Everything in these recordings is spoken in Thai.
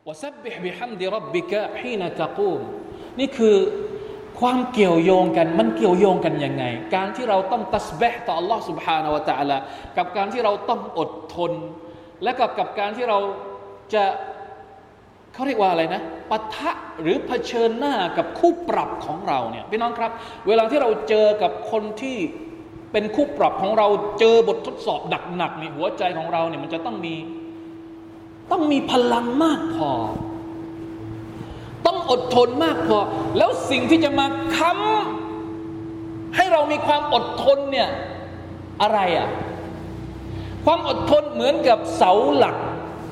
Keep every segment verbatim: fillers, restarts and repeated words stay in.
วะซับบิฮ์บิฮัมดิร็อบบิกะฮีนะตะกูมนี่คือความเกี่ยวโยงกันมันเกี่ยวโยงกันยังไงการที่เราต้องตัสบิฮ์ต่อ Allah سبحانه และ تعالى กับการที่เราต้องอดทนและกับกับการที่เราจะเขาเรียกว่าอะไรนะปะทะหรือเผชิญหน้ากับคู่ปรับของเราเนี่ยพี่น้องครับเวลาที่เราเจอกับคนที่เป็นคู่ปรับของเราเจอบททดสอบหนักๆในหัวใจของเราเนี่ยมันจะต้องมีต้องมีพลังมากพอต้องอดทนมากพอแล้วสิ่งที่จะมาค้ำให้เรามีความอดทนเนี่ยอะไรอ่ะความอดทนเหมือนกับเสาหลัก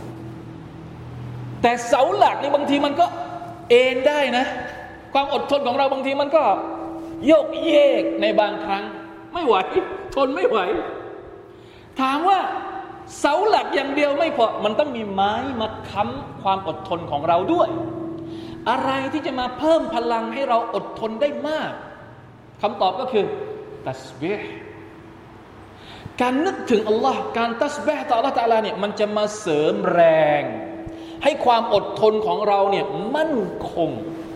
แต่เสาหลักนี่บางทีมันก็เอ็นได้นะความอดทนของเราบางทีมันก็โยกเยกในบางครั้งไม่ไหวทนไม่ไหวถามว่าเสาหลักอย่างเดียวไม่พอมันต้องมีไม้มาค้ำความอดทนของเราด้วยอะไรที่จะมาเพิ่มพลังให้เราอดทนได้มากคำตอบก็คือตัสบีฮ์การนึกถึงอัลลอฮ์การตัสบีฮ์ต่ออัลลอฮ์ตะอาลาเนี่ยมันจะมาเสริมแรงให้ความอดทนของเราเนี่ยมั่นคง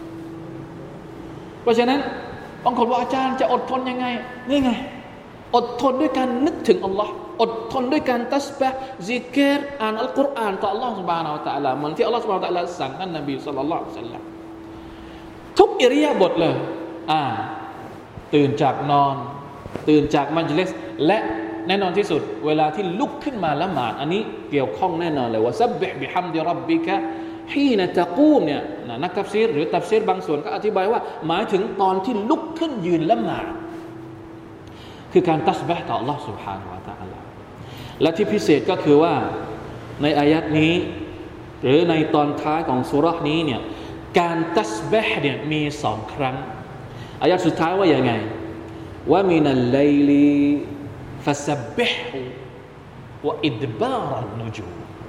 เพราะฉะนั้นบางคนว่าอาจารย์จะอดทนยังไงนี่ไงอดทนด้วยการนึกถึงอัลลอฮ์อดทนด้วยการตัสบีฮ์ซิกรอ่านอัลกุรอานต่ออัลลอฮ์ซุบฮานะฮูวะตะอาลาเหมือนที่อัลลอฮ์ซุบฮานะฮูวะตะอาลาสั่งท่านนบีศ็อลลัลลอฮุอะลัยฮิวะซัลลัมทุกอิริยาบถเลยอ่าตื่นจากนอนตื่นจากมัจลิสและแน่นอนที่สุดเวลาที่ลุกขึ้นมาละหมาดอันนี้เกี่ยวข้องแน่นอนเลยว่าซับบิฮ์บิฮัมดิร็อบบิกะฮีนะตะกูมเนี่ยนักตัฟซีรหรือตัฟซีรบางส่วนก็อธิบายว่าหมายถึงตอนที่ลุกขึ้นยืนละหมาดคือการตัสบีฮ์ต่อ Allah سبحانه และ تعالى และที่พิเศษก็คือว่าในอายัดนี้หรือในตอนท้ายของซูเราะห์นี้เนี่ยการตัสบีฮ์เนี่ยมีสองครั้งอายัดสุดท้ายว่าอย่างไงว่ามินัลไลลีฟัสบิฮ์วะอิดบารันนุจูม